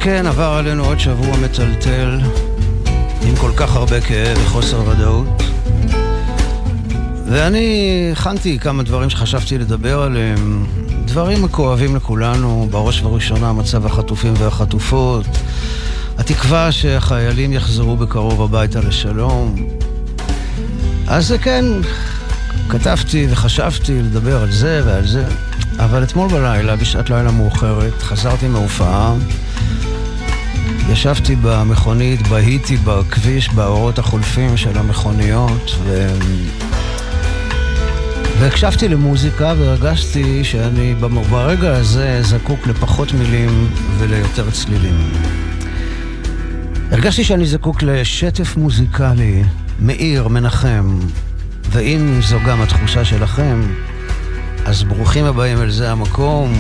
כן, עבר עלינו עוד שבוע מטלטל, עם כל כך הרבה כאב וחוסר ודאות. ואני הכנתי כמה דברים שחשבתי לדבר עליהם, דברים הכואבים לכולנו, בראש ובראשונה מצב החטופים והחטופות, התקווה שהחיילים יחזרו בקרוב הביתה לשלום. אז כן, כתבתי וחשבתי לדבר על זה ועל זה, אבל אתמול בלילה, בשעת לילה מאוחרת, חזרתי מהופעה, ישבתי במכונית, בהיתי בכביש, באורות החולפים של המכוניות, והקשבתי למוזיקה והרגשתי שאני ברגע הזה זקוק לפחות מילים וליותר צלילים. הרגשתי שאני זקוק לשטף מוזיקלי, מאיר, מנחם, ואם זו גם התחושה שלכם, אז ברוכים הבאים אל זה המקום.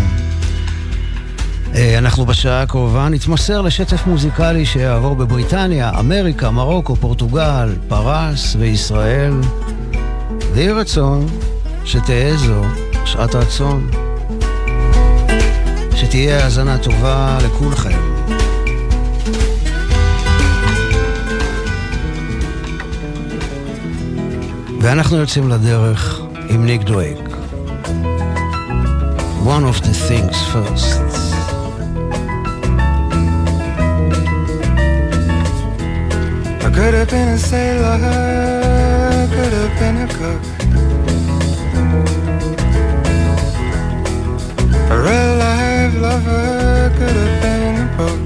אנחנו בשעה הקרובה נתמסר לשטף מוזיקלי שיעבור בבריטניה, אמריקה, מרוקו, פורטוגל, פרס וישראל. ויהי רצון שתהיה זו שעת רצון, שתהיה האזנה טובה לכולכם. ואנחנו יוצאים לדרך עם ניק דווייק. One of the things first. I could have been a sailor, could have been a cook, a real life lover, could have been a book.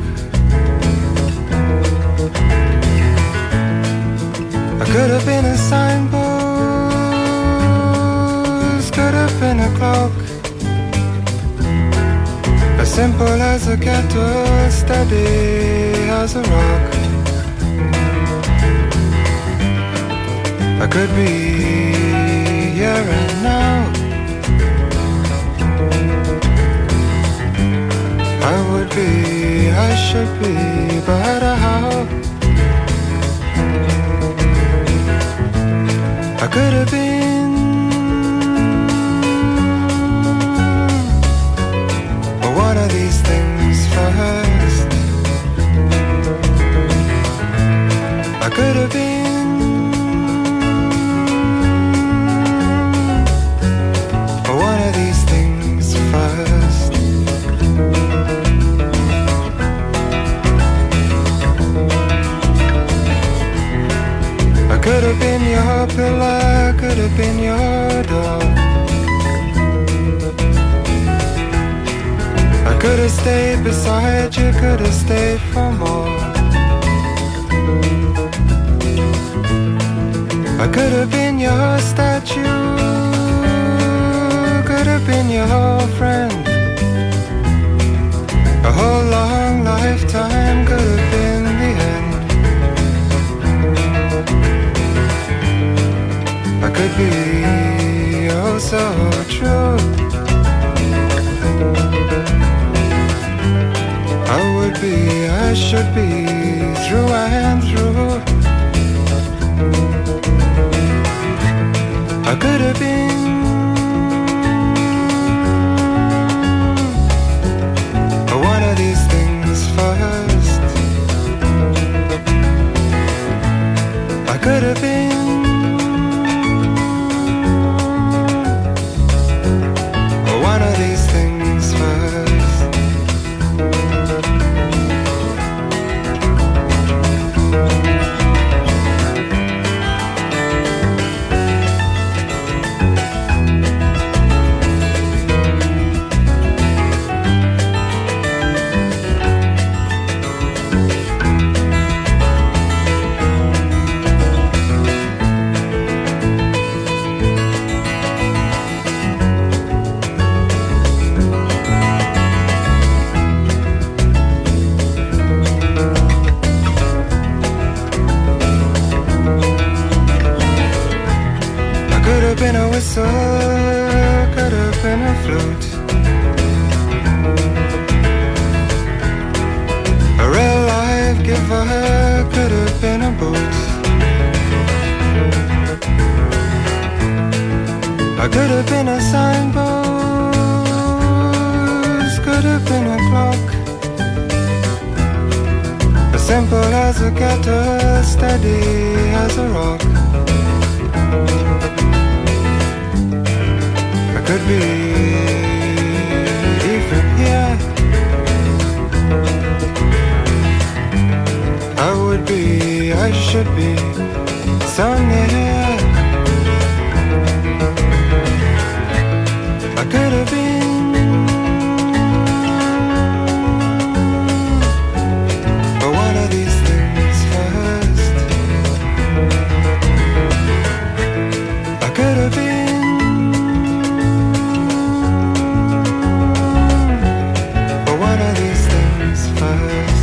I could have been a signpost, could have been a clock, as simple as a kettle, steady as a rock. I could be here and now, I would be, I should be, but how? I could have been one of these things first. I could have been one of these things first. I could have been your pillar, could have been your door. I could have stayed beside you, could have stayed for more. I could have been your statue, could have been your friend. A whole long lifetime could have been the end. I could be oh so true. I would be, I should be, through and through. I could have been one of these things first. I could have been one of these things first. Been a whistle, could have been a flute, a real life giver, could have been a boot. I could have been a signpost, could have been a clock, Tall as a cactus, steady as a rock. I could be even here. I would be, I should be so near. I could have been, but what are these things first? I could have been, but what are these things first?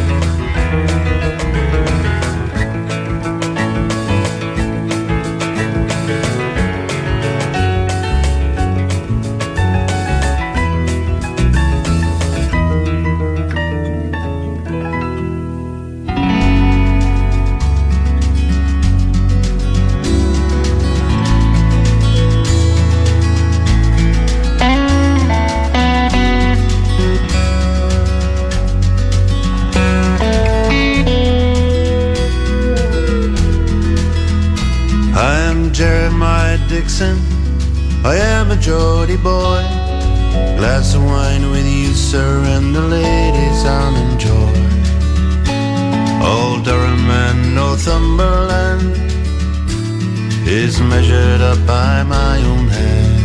Dixon, I am a Geordie boy. Glass of wine with you, sir, and the ladies I'll enjoy. Old Durham and Northumberland is measured up by my own hand.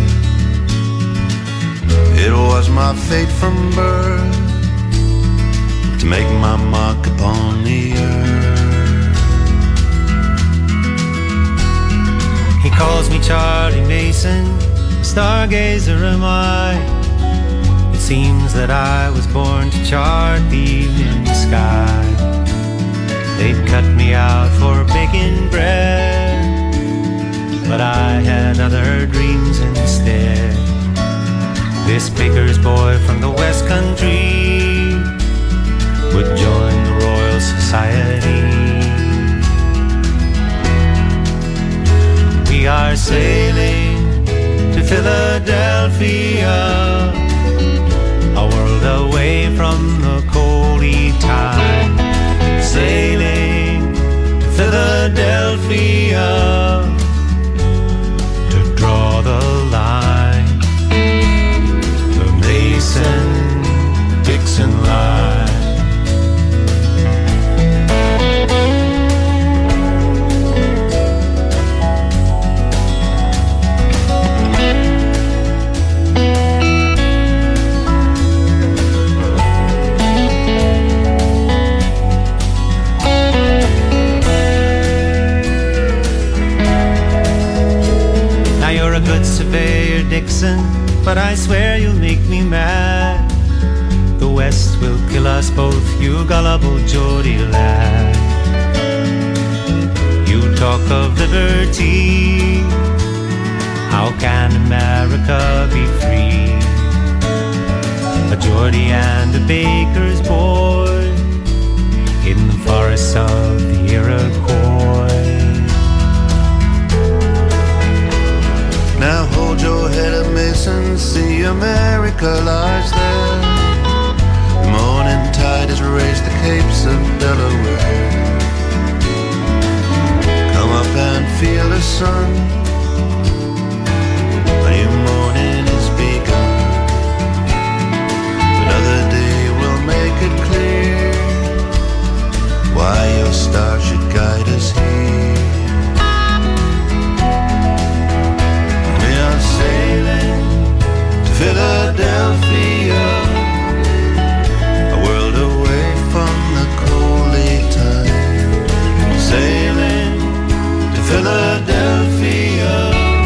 It was my fate from birth to make my mark upon the earth. He calls me Charlie Mason, stargazer am I. It seems that I was born to chart the evening sky. They'd cut me out for baking bread, but I had other dreams instead. This baker's boy from the West Country would join the Royal Society. We are sailing to Philadelphia, a world away from the coldy tide. Sailing to Philadelphia to draw the line, the Mason-Dixon line. Surveyor Dixon, but I swear you'll make me mad. The West will kill us both, you gullible Geordie lad. You talk of liberty, how can America be free? A Geordie and a baker's boy in the forests of the Iroquois. Now hold your head up, Mason, see America lies there. The morning tide has raised the capes of Delaware. Come up and feel the sun, a new morning is begun. Another day will make it clear why your star should guide us here. Sailing to Philadelphia, a world away from the coldy tide. Sailing to Philadelphia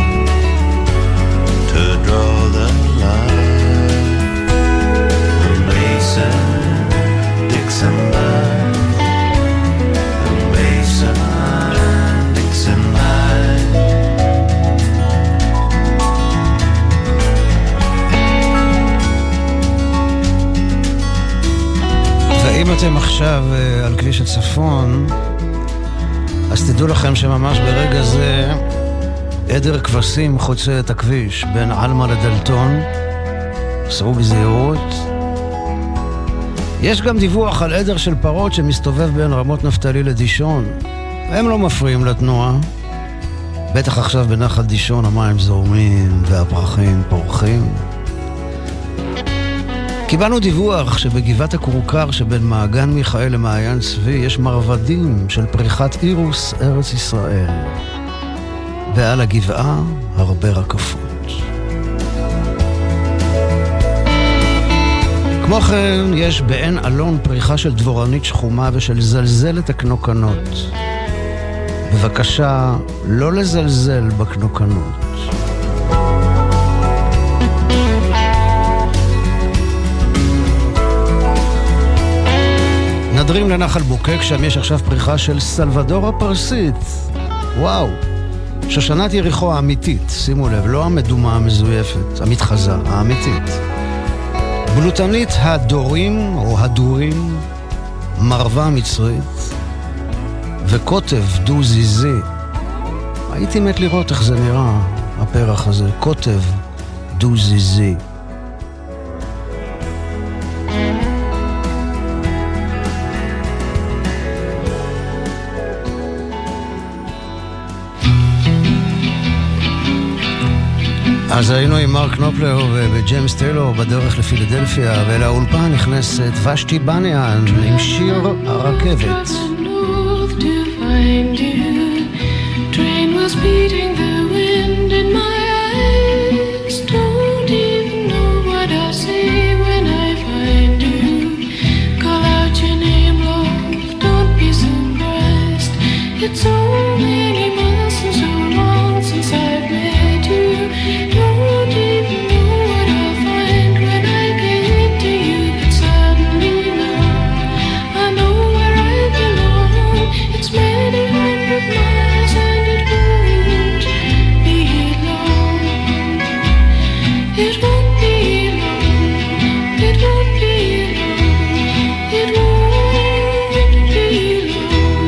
to draw the line, the Mason-Dixon line, the Mason-Dixon line. אם אתם עכשיו על כביש הצפון, אז תדעו לכם שממש ברגע זה עדר כבשים חוצה את הכביש בין אלמה לדלטון. סעו בזהירות. יש גם דיווח על עדר של פרות שמסתובב בין רמות נפתלי לדישון. הם לא מפריעים לתנועה. בטח עכשיו בנחל דישון המים זורמים והפרחים פורחים. קיבלנו דיווח שבגבעת הכורכר שבין מעגן מיכאל למעיין צבי יש מרבדים של פריחת אירוס ארץ ישראל. ועל הגבעה הרבה רקפות. כמו כן, יש בעין אלון פריחה של דבורנית שחומה ושל זלזלת הקנוקנות. בבקשה, לא לזלזל בקנוקנות. נדרים לנחל בוקק, שם יש עכשיו פריחה של סלבדור הפרסית. וואו. שושנת יריחו האמיתית, שימו לב, לא המדומה המזויפת, המתחזה, האמיתית. בלוטנית הדורים או הדורים, מרווה מצרית, וקוטב דו-זיזי. הייתי מת לראות איך זה נראה, הפרח הזה, קוטב דו-זיזי. אז היינו עם מרק נופלר וג'יימס טיילור בדרך לפילדלפיה, ולאולפן נכנסת ושתי בניאן עם שיר הרכבת. Train was beating the wind in my eyes. Don't even know what I say when I find you. Call out your name, love, don't be surprised. It's so many months and so long since I've met you. Don't even know what I'll find when I get to you. But suddenly now I know where I belong. It's many hundred miles and it won't be long. It won't be long. It won't be long. It won't be long.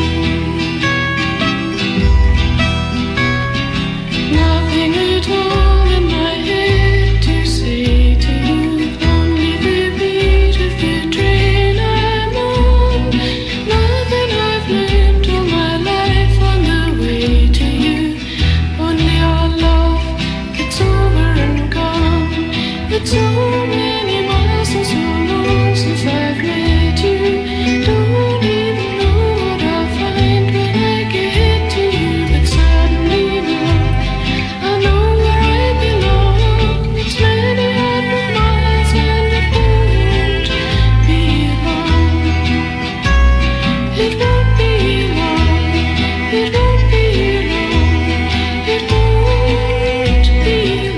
Nothing at all in my head to say to you. Only the beat of the train I'm on. Nothing I've learned all my life on the way to you. Only our love gets over and gone. It's so many miles and so long since I've met you. Don't even know what I'll find when I get to you. But suddenly now I know where I belong. It's many hundred miles and it won't be long. It won't be long. It won't be long. It won't be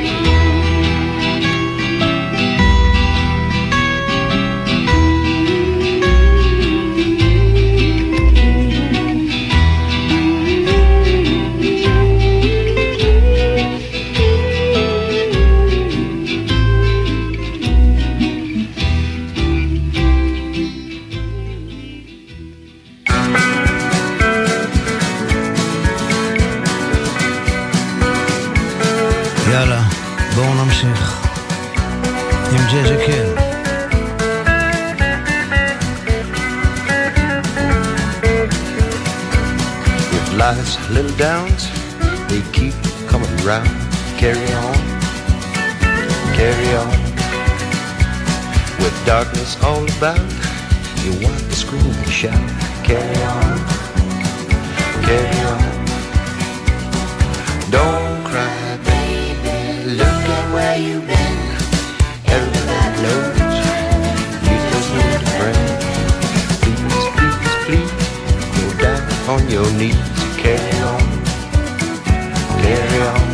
יאללה, בואו נמשיך עם ג'ג'ה קל. With life's little downs, they keep coming round. Carry on, carry on. With darkness all about, you want to scream and shout. Carry on, carry on. Don't cry, baby, look at where you've been. Everybody knows you just need a friend. Please, please, please, go down on your knees. Carry on, carry on.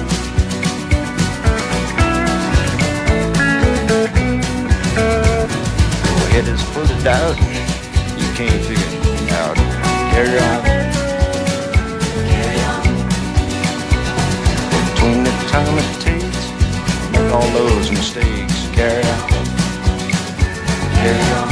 Your head is full of doubt, you can't figure it out. Carry on, carry on. Between the time it takes, make all those mistakes. Carry on, carry on.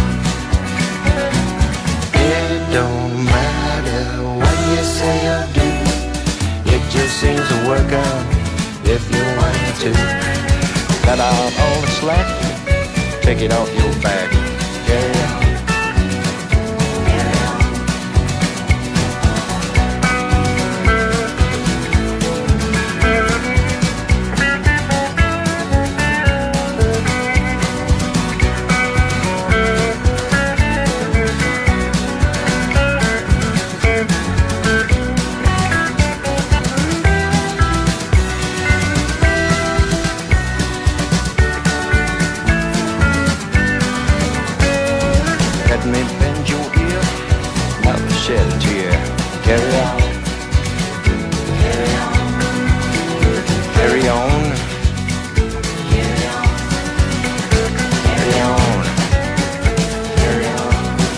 It don't matter what you say or do, it just seems to work out if you want to. Cut out all the slack, take it off your back. Carry on, Carry on, carry on, carry on, carry on, carry on, carry on.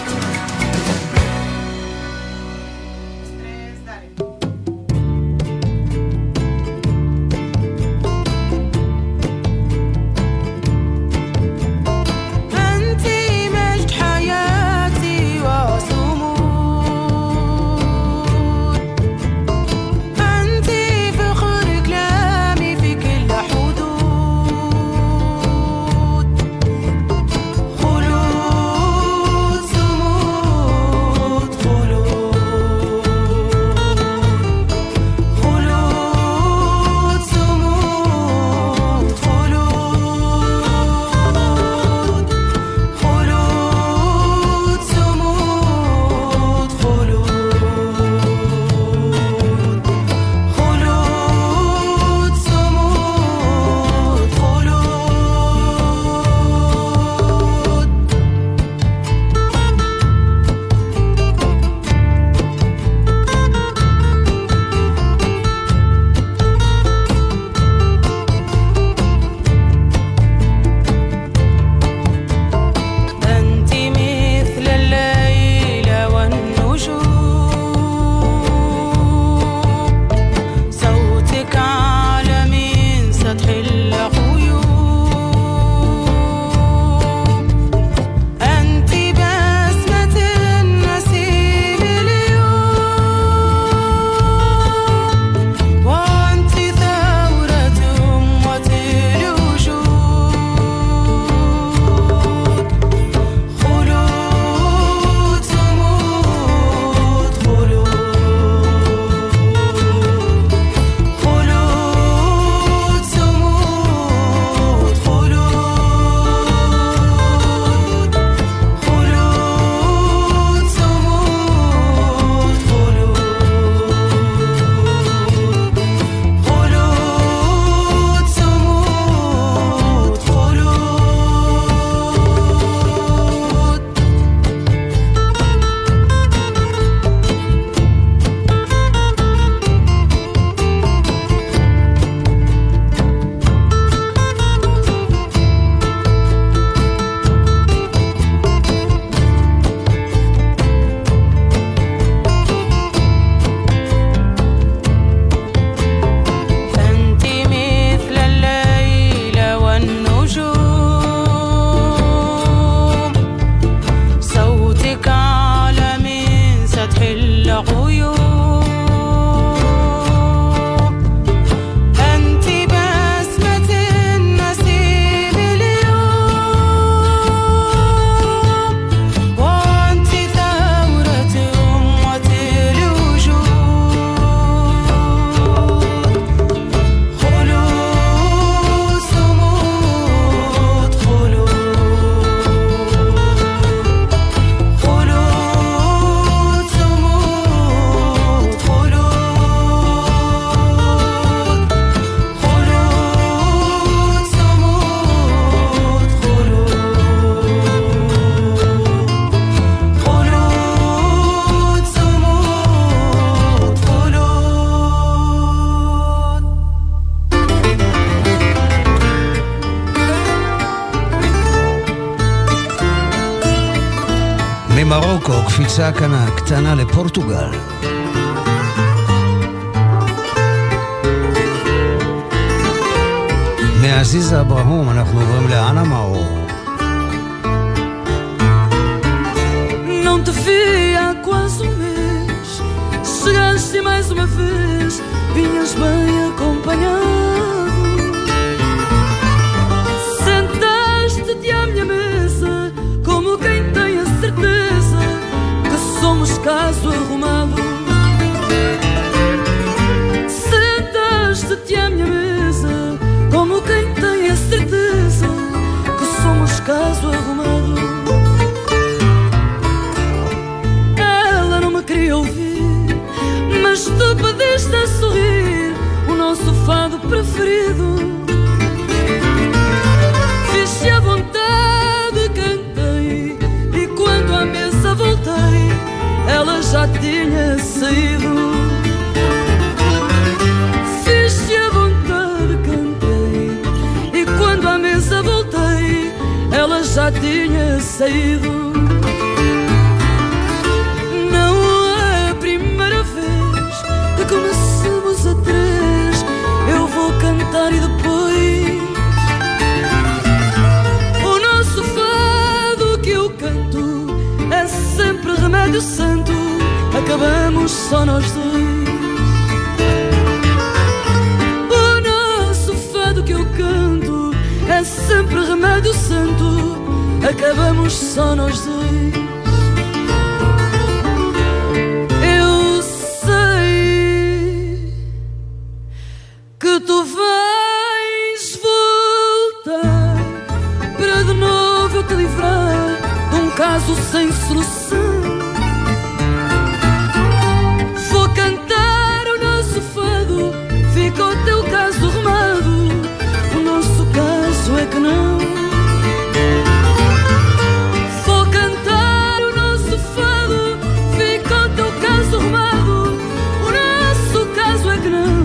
ממרוקו, קפיצה קטנה לפורטוגל. מעזיזה אברהום אנחנו עוברים לאנה מאור. Não te vi há quase um mês, chegaste mais uma vez, vinhas bem acompanhado. Sentaste-te à minha mesa, como quem tem a certeza que somos caso arrumado. Sentaste-te à minha mesa, como quem tem a certeza que somos caso arrumado. Ela não me queria ouvir, mas tu pediste a sorrir o nosso fado preferido. Fiz-te à vontade, cantei, e quando à mesa voltei, ela já tinha saído. saído. Não é a primeira vez que começamos a três. Eu vou cantar e depois o nosso fado que eu canto é sempre remédio santo. Acabamos só nós dois. O nosso fado que eu canto é sempre remédio santo. Acabamos só nós dois. Eu sei que tu vais voltar para de novo eu te livrar de um caso sem solução. Vou cantar o nosso fado, fica o teu caso arrumado. O nosso caso é que não. Vou cantar o nosso fado, fica o teu caso arrumado. O nosso caso é que não.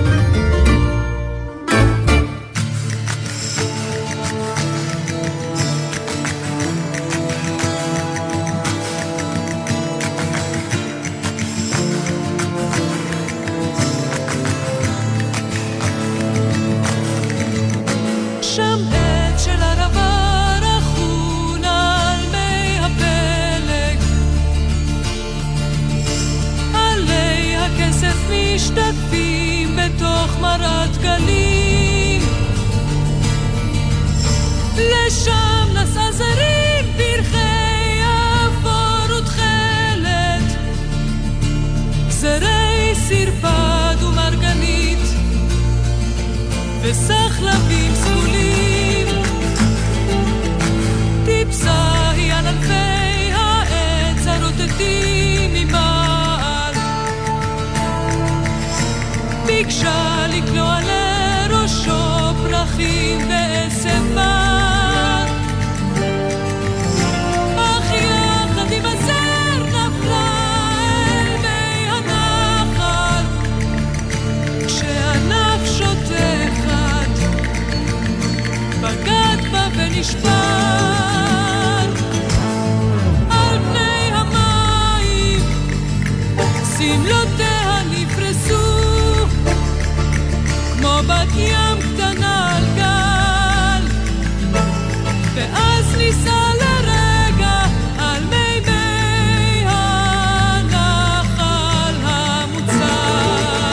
משתתפים בתוך מרת גלים. לשם נסע זרים פרחי אפור ותכלת, זרי סרפד ומרגנית וסחלבים סגולים. טיפסה היא על ענפי העץ הרוטטים ממעל, ביקשה לקלוע לראשו פרחים ועשב בר, אך יחד עם הזר נפלה אל מי הנחל, כשענף שוטה אחד בגד בה ונשבר. על פני המים סמלותיה נפרסו כמו בת ים קטנה על גל, ואז ניסה לרגע על מי הנחל המוצל.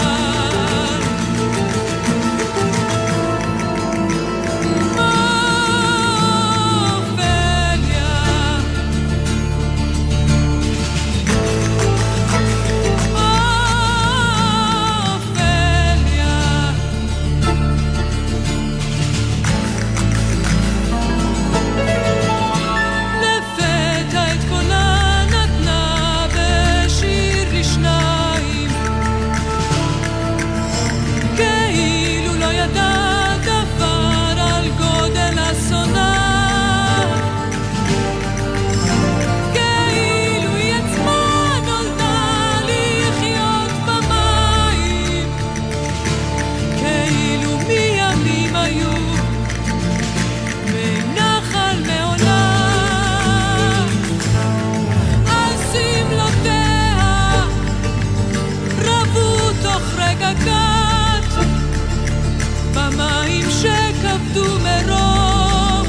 במים שכבדו מרוב,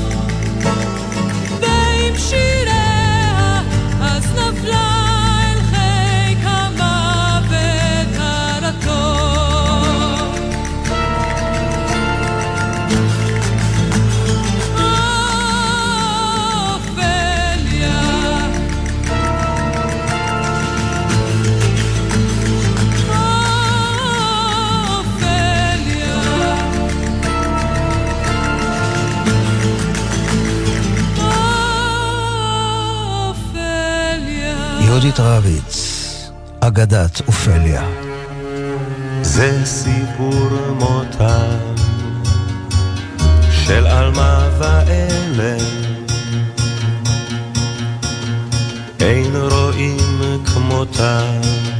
ועם שיריה אז נפלה אל חיק המוות הרטוב. אופליה, יהודית רביץ, אגדת אופליה. זה סיפור מותם של אלמה ואלם, אין רואים כמותם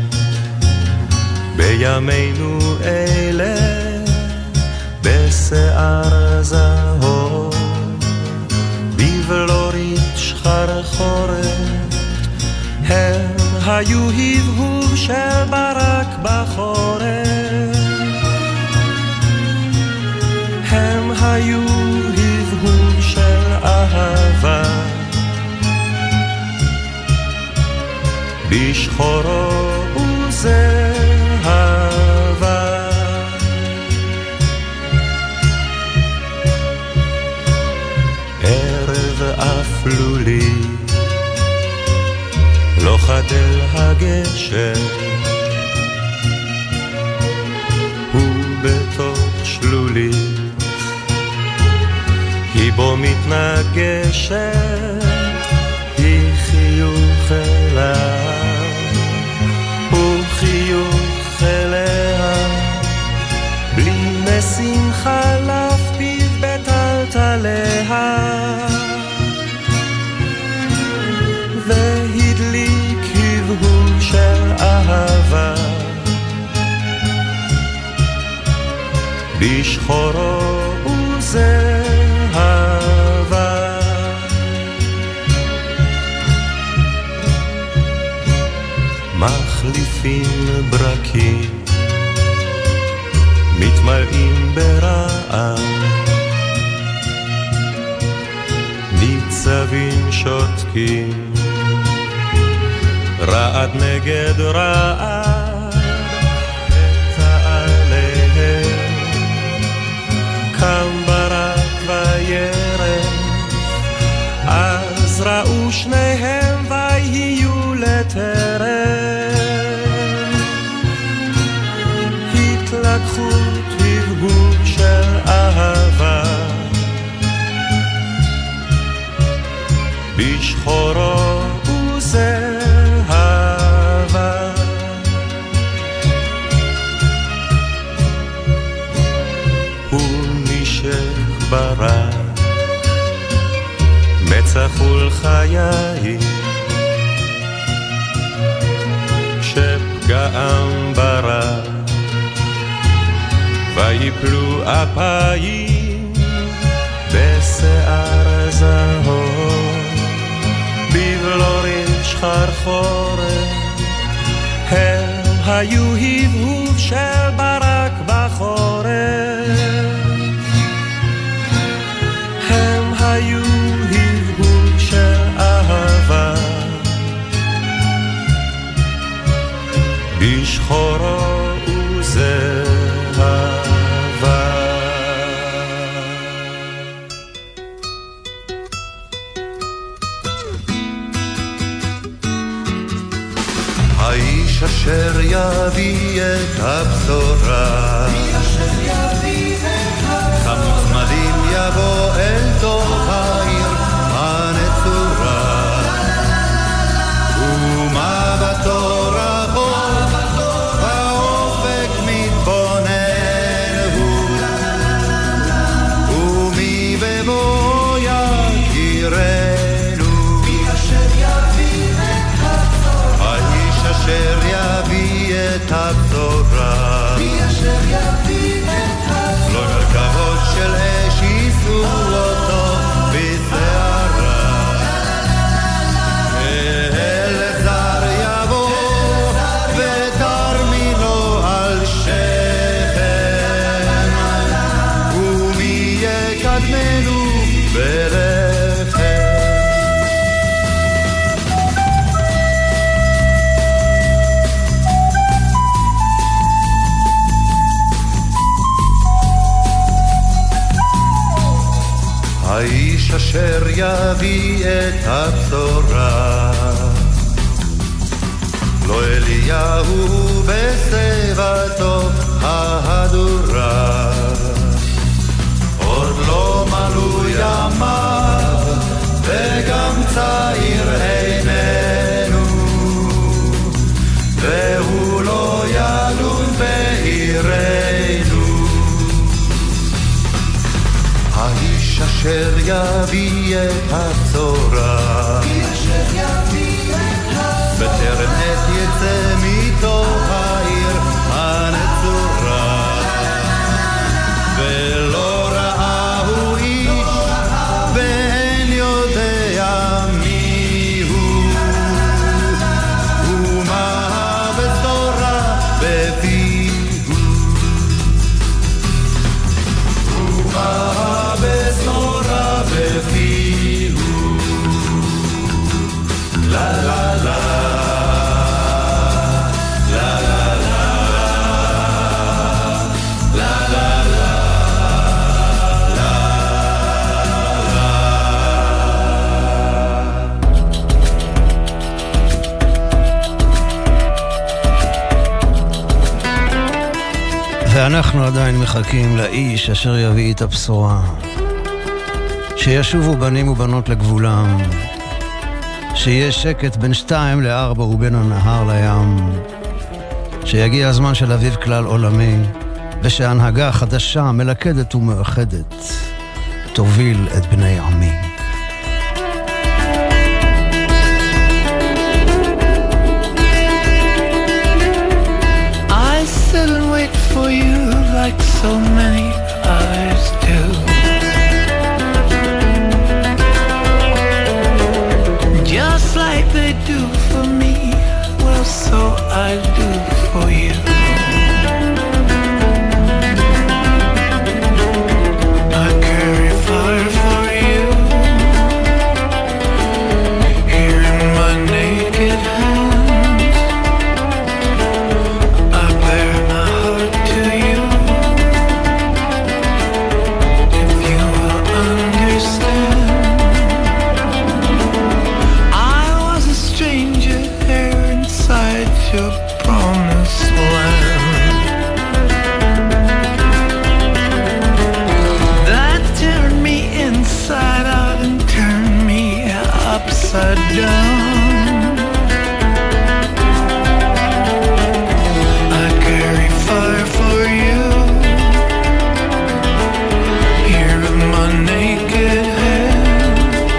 בימינו אלה, בשיער זהוב בבלורית שחרה היו הבהוב של ברק בחורף, הם היו הבהוב של אהבה, בשחורו וזהבה. ערב אפלולי לא חדל הגשר, הוא בתוך שלולי, היא בו מתנגשת, היא חיוך אליו, הוא חיוך אליה, בלי נסים חלף פיו בטלטליה, והדליק הבהוב של אהבה, בשחורו וזהבה. מחליפים ברקים, מתמלאים ברעם, ניצבים שותקים, רעד נגד רעד, תעליהם קם ברק וירם, אז ראו שניהם ויהיו לטרם, התלקחות הבהוב של אהבה, בשחורו וזהבה. הוא נשך ברק, מצח ולחיי, כשפגעם ברק, ויפלו אפיים בשיער זהוב, בבלורית שחרחורת, הם היו הבהוב של ברק בחורף, הם היו הבהוב של אהבה, בשחורו וזהבה. האיש אשר יביא את הבשורה, חמוצמדים יבוא אל תוך העיר הנצורה, ומבטו רחוק באופק מתבונן הוא, ומי במו יכירנו, האיש אשר יביא את הבשורה, לא מרכבות של אש יישאו אותו בשערה, אל זר יבוא ותרמינו על שכם, ומי יקדמנו בלחם. האיש אשר יביא את הבשורה, לא אליהו בשיבתו ההדורה, עוד לא מלאו ימיו וגם צעיר איננו, והוא לא ילון בעירנו, האיש אשר יביא את הבשורה, בטרם עת יצא מתוך העיר הנצורה, ולא ראה הוא איש ואין יודע מי הוא, ומה ואנחנו עדיין מחכים לאיש אשר יביא את הבשורה, שישובו בנים ובנות לגבולם, שיהיה שקט בין 2 ל-4 ובין הנהר לים, שיגיע הזמן של אביב כלל עולמי, ושהנהגה חדשה, מלכדת ומאחדת, תוביל את בני עמי. I sit and wait for you like so many others do. Just like they do for me, well, so I do for you. I carry fire for you here in my naked hands. I bear my heart to you. If you will understand, I was a stranger there inside your promised land. That turned me inside out and turned me upside down. I carry fire for you here in my naked hand.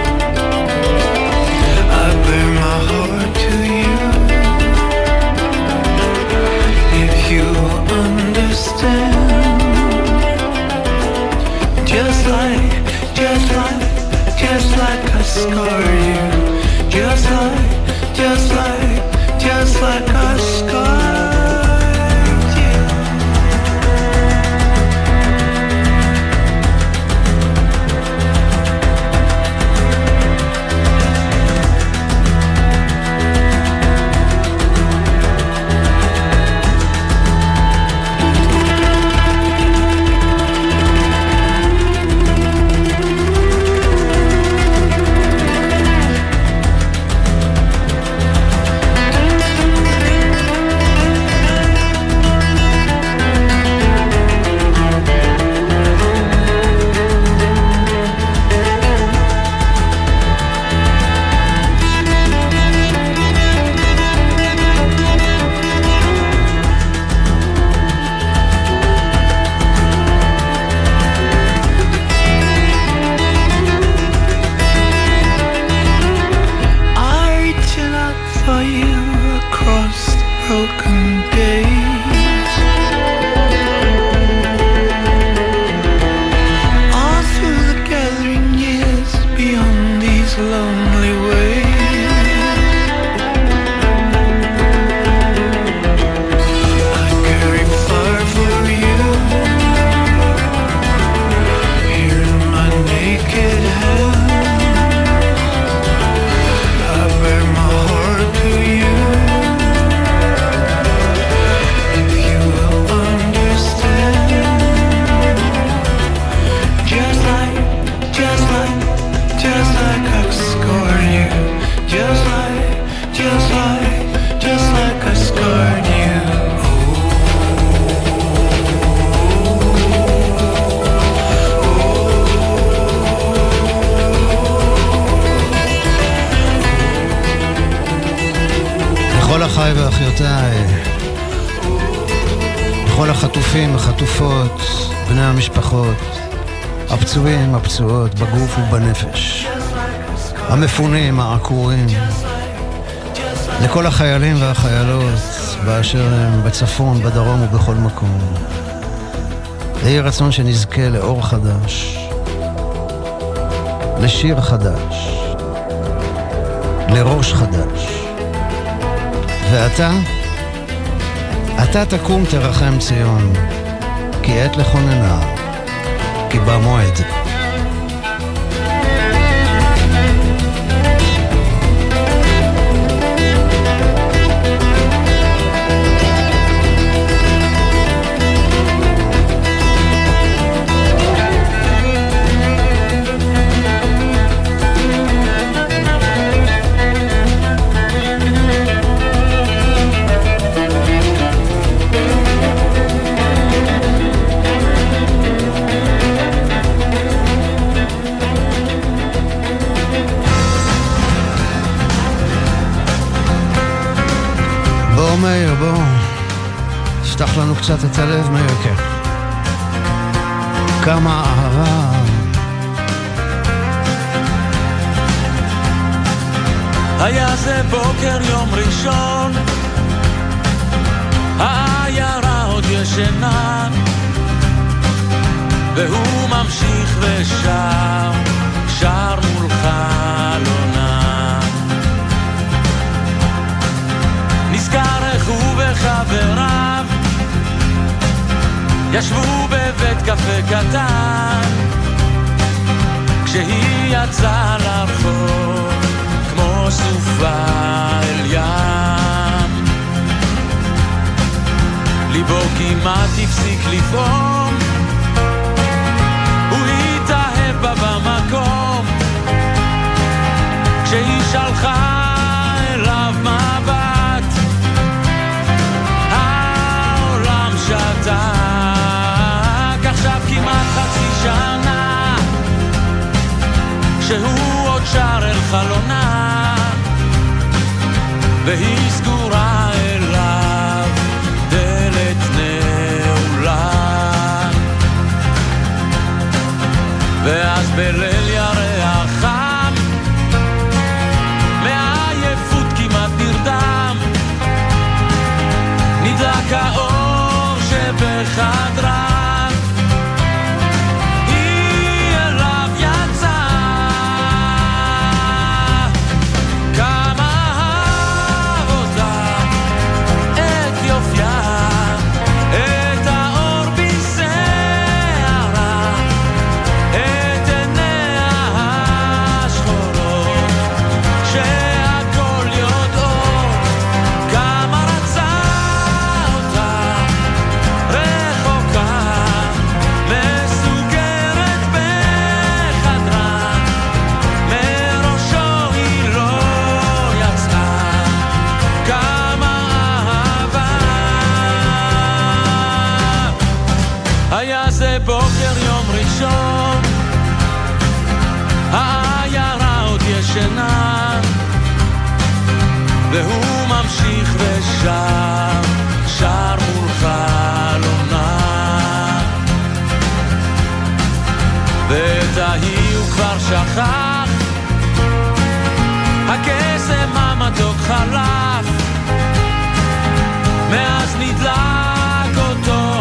I bear my heart to you. If you understand, just like I scarred you, just like I scarred you. לכל החטופים, החטופות, בני המשפחות, הפצועים, הפצועות, בגוף ובנפש, המפונים, העקורים, לכל החיילים והחיילות באשר הם בצפון, בדרום ובכל מקום. יהי רצון שנזכה לאור חדש, לשיר חדש, לראש חדש. ואתה תקום תרחם ציון, כי עת לכוננה, כי במועד. תפתח לנו קצת את הלב, מייקה. כמה אהבה. היה זה בוקר יום ראשון, העיירה עוד ישנה, והוא ממשיך ושר, שר מול חלונה. נזכר איך הוא וחבריו ישבו בבית קפה קטן, כשהיא יצאה לרחוב כמו סופה אל ים. ליבו כמעט הפסיק לפעום, הוא התאהב בה במקום, כשהיא שלחה אליו מבט, העולם שתק. עכשיו כמעט חצי שנה, שהוא עוד שר אל חלונה, והיא סגורה אליו, דלת נעולה. ואז בליל ירח חם, מעייפות כמעט נרדם, נדלק האור שבחדרה, בוקר יום ראשון, העיירה עוד ישנה, והוא ממשיך ושר, שר מול חלונה. ואת ההיא הוא כבר שכח, הקסם המתוק חלף, מאז נדלק אותו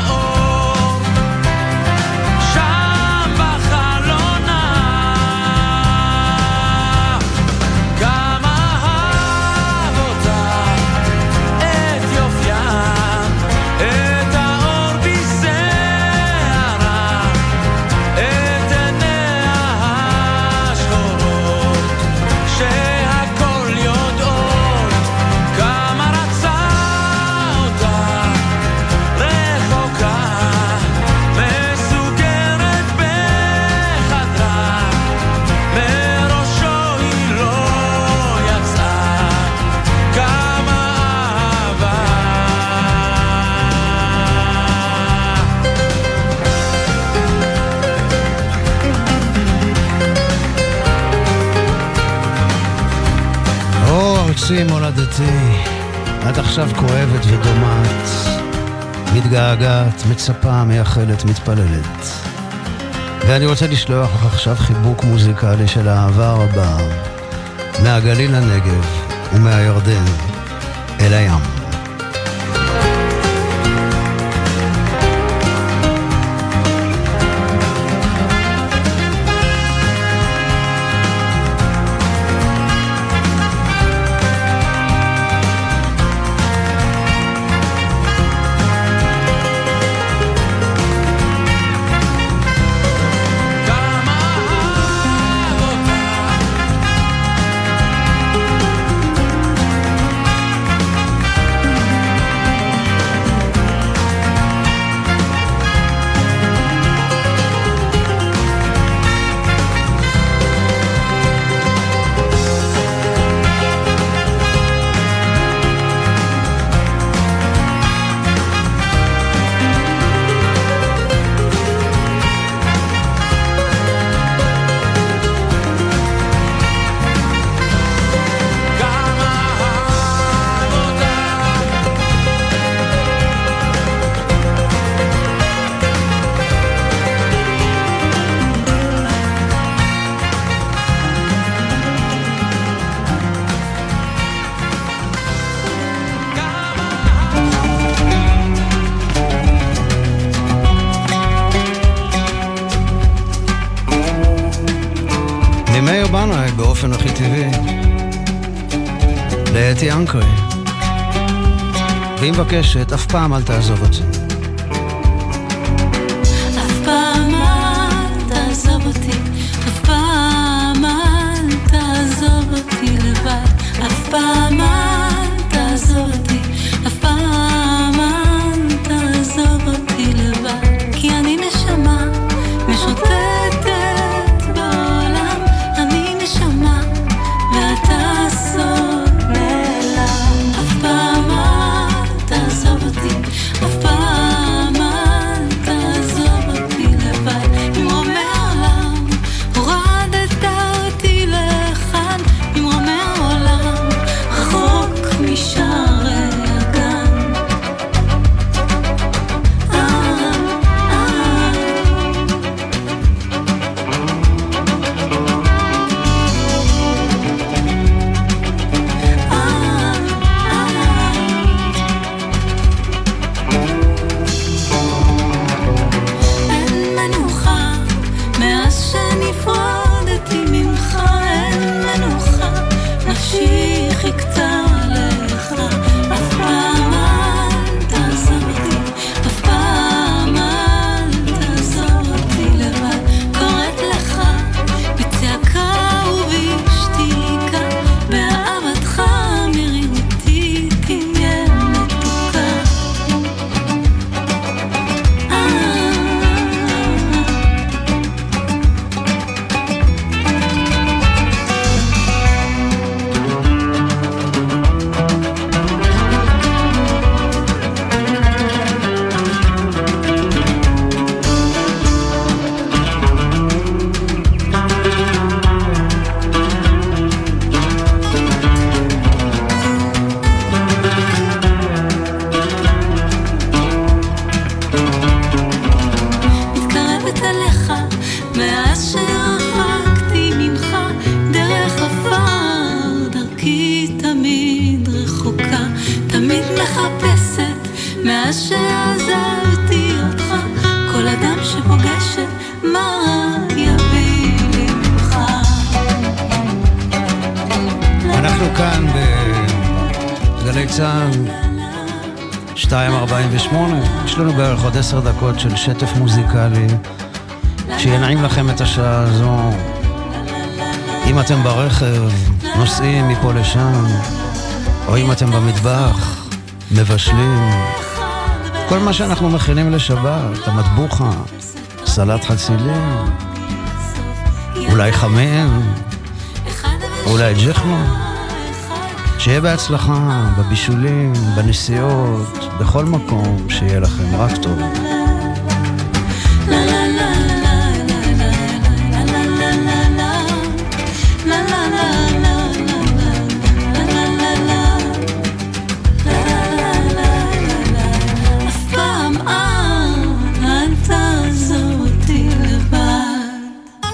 מולדתי, עד עכשיו כואבת ודומעת, מתגעגעת, מצפה, מייחלת, מתפללת. ואני רוצה לשלוח לך עכשיו חיבוק מוזיקלי של האהבה רבה, מהגליל לנגב ומהירדן אל הים. באופן הכי טבעי לאתי אנקרי, והיא מבקשת אף פעם אל תעזוב אותי. אף פעם אל תעזוב אותי, אף פעם אל תעזוב אותי לבד, אף פעם אל תעזוב אותי, אף פעם אל תעזוב אותי לבד, כי אני נשמה משוטטת בעולם, אני נשמה ואתה סוד נעלם. אף פעם אל תעזוב אותי, אף פעם אל תעזוב אותי לבד, ממרומי העולם הורדת אותי לכאן, ממרומי העולם רחוק משערי הגן. אין מנוחה מאז שנפרדתי ממך, אין מנוחה, נפשי חיכתה לך. אף פעם אל תעזוב אותי, אף פעם אל תעזוב אותי לבד, קוראת לך בצעקה ובשתיקה, באהבתך מרירותי תהיה מתוקה. מתקרבת אליך מאז שרחקתי ממך, דרך עפר דרכי תמיד רחוקה, תמיד מחפשת מאז שעזבתי אותך, כל אדם שפוגשת מה יביא לי ממך. אנחנו כאן בגלי צה"ל 2:48, יש לנו בערך עוד 10 דקות של שטף מוזיקלי שינעים לכם את השעה הזו. אם אתם ברכב, נוסעים מפה לשם, או אם אתם במטבח, מבשלים, כל מה שאנחנו מכינים לשבת, המטבוחה, סלט חצילים, אולי חמם, אולי ג'חנון, שיהיה בהצלחה בבישולים, בנסיעות, בכל מקום, שיהיה לכם רק טוב. אף פעם אל תעזוב אותי לבד.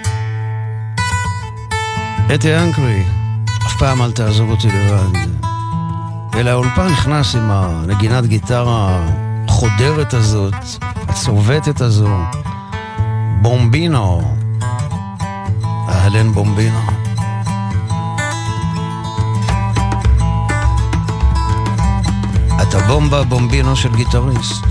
אתי אנקרי, אף פעם אל תעזוב אותי לבד. אל האולפן נכנס עם הנגינת גיטרה החודרת הזאת, הצובטת הזו, בומבינו, אהלן בומבינו. אתה בומבה בומבינו של גיטריסט.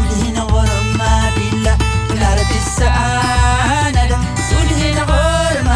سولهنا غور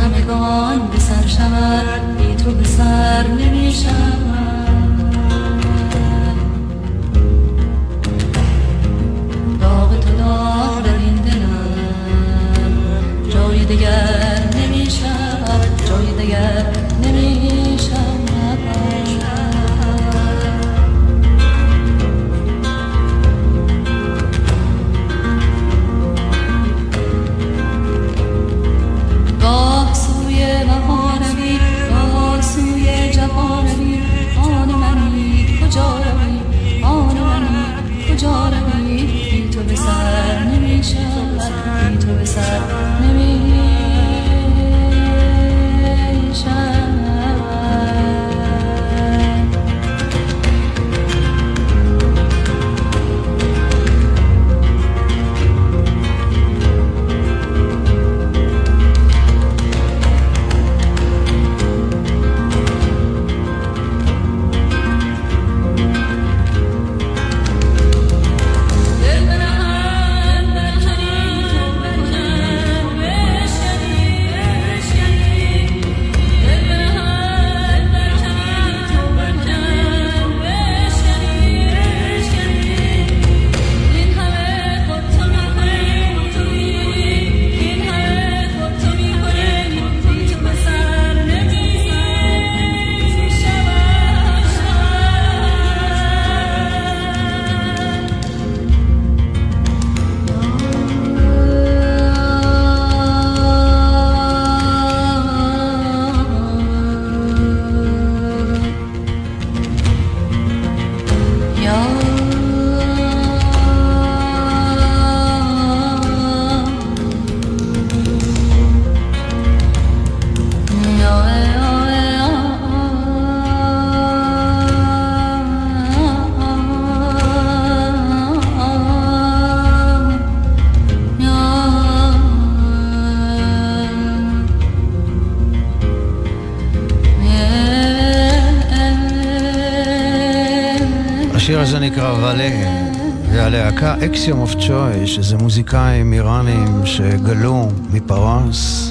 همگان به سر شود بی تو به سر نمی شود داغ تو داغ در این دلم جای دگر نمی شود جای دگر نمی شود گاه سوی بهارمی گاه سوی جوانمی آن منی کجا روی آن منی کجا روی بی تو به سر نمی شود بی تو به سر نمی شود השיר הזה נקרא ואלה, והלהקה אקסיום אוף צ'וי, שזה מוזיקאים איראנים שגלו מפרס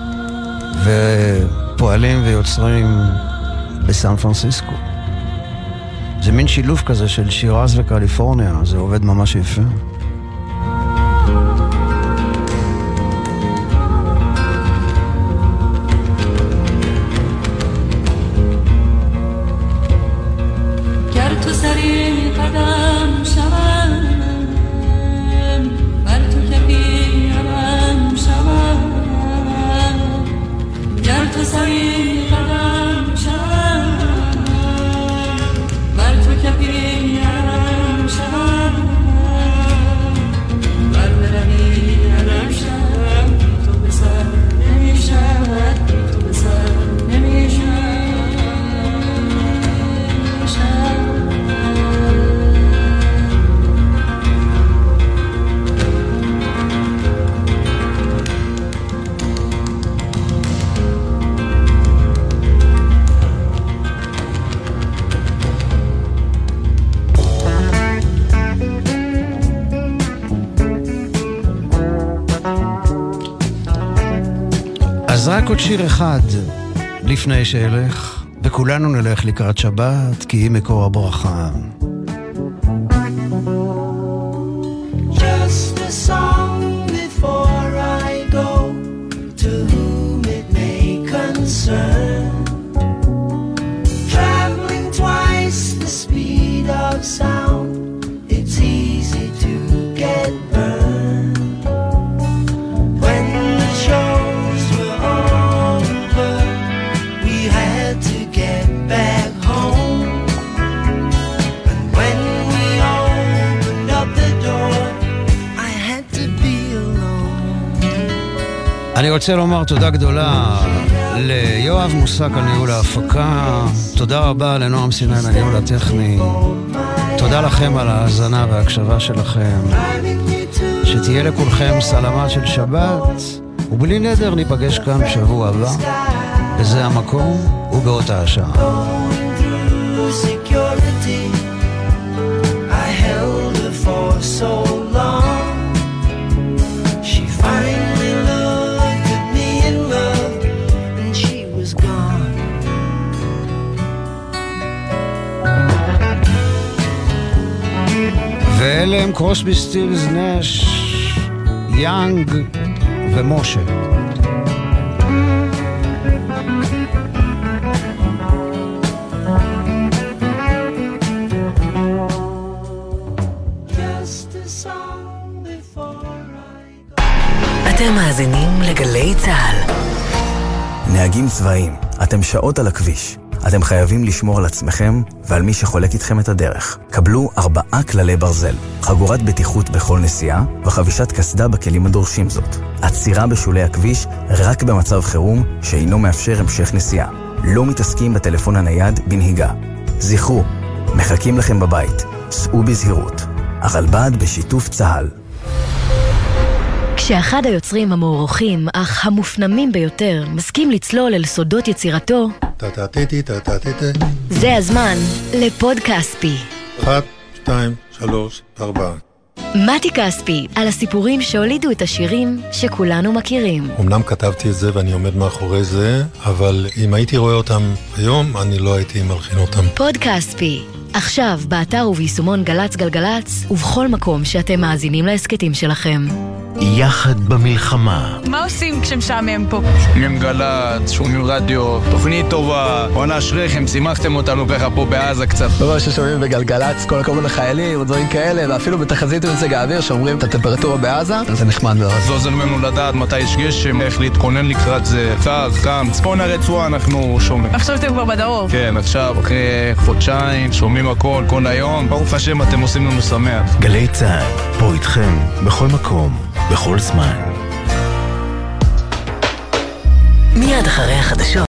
ופועלים ויוצרים בסן פרנסיסקו. זה מין שילוב כזה של שירז וקליפורניה, זה עובד ממש יפה. אז רק עוד שיר אחד לפני שאלך, וכולנו נלך לקראת שבת, כי היא מקור הברכה. Just a song before I go, to whom it may concern. Traveling twice the speed of sound, it's easy to get burned. When the shows were over, we had to get back home. And when we opened up the door, I had to be alone. אני רוצה לומר תודה גדולה ליואב מוסק על ניהול ההפקה, תודה רבה לנועם סיני על הניהול הטכני, תודה לכם על ההאזנה וההקשבה שלכם, שתהיה לכולכם סלמת של שבת, ובלי נדר ניפגש כאן בשבוע הבא, וזה המקום ובאותה השעה. I held her for so long. She finally looked at me in love. קרוסבי, סטילס, נש, יאנג ומשה. אתם מאזינים לגלי צהל. נהגים צבאיים, אתם שעות על הכביש. אתם חייבים לשמור על עצמכם ועל מי שחולק איתכם את הדרך. קבלו 4 כללי ברזל, חגורת בטיחות בכל נסיעה וחבישת קסדה בכלים הדורשים זאת. עצירה בשולי הכביש רק במצב חירום שאינו מאפשר המשך נסיעה. לא מתעסקים בטלפון הנייד בנהיגה. זכרו, מחכים לכם בבית. סעו בזהירות. הרלב"ד בשיתוף צה"ל. כשאחד היוצרים המוערוכים אך המופנמים ביותר מסכים לצלול אל סודות יצירתו, זה הזמן לפוד כספי. 1, 2, 3, 4. מתי כספי, על הסיפורים שהולידו את השירים שכולנו מכירים. אמנם כתבתי את זה ואני עומד מאחורי זה, אבל אם הייתי רואה אותם היום, אני לא הייתי מלחין אותם. פוד כספי, עכשיו באתר וביישומון גלץ גלגלץ, ובכל מקום שאתם מאזינים להסקטים שלכם. יחד במלחמה. מה עושים כשמשעמם פה? שומעים גלץ, שומעים רדיו, תוכנית טובה. בואנה אשריכם, שימחתם אותנו ככה פה בעזה קצת. לא ששומעים בגלגלץ, כל הכבוד לחיילים, ודברים כאלה, ואפילו בתחזית ומזג האוויר שאומרים את הטמפרטורה בעזה, זה נחמד מאוד. זה עוזר לנו לדעת מתי יש גשם, איך להתכונן לקראת זה. קר, חם, צפון הרצועה אנחנו שומעים. עכשיו אתם כבר בדרום. כן, עכשיו אחרי חודשיים, שומעים הכל, כל היום. ברוך השם, אתם עושים לנו שמח. גלי צהל, פה איתכם, בכל מקום, בכל זמן. מיד אחרי החדשות.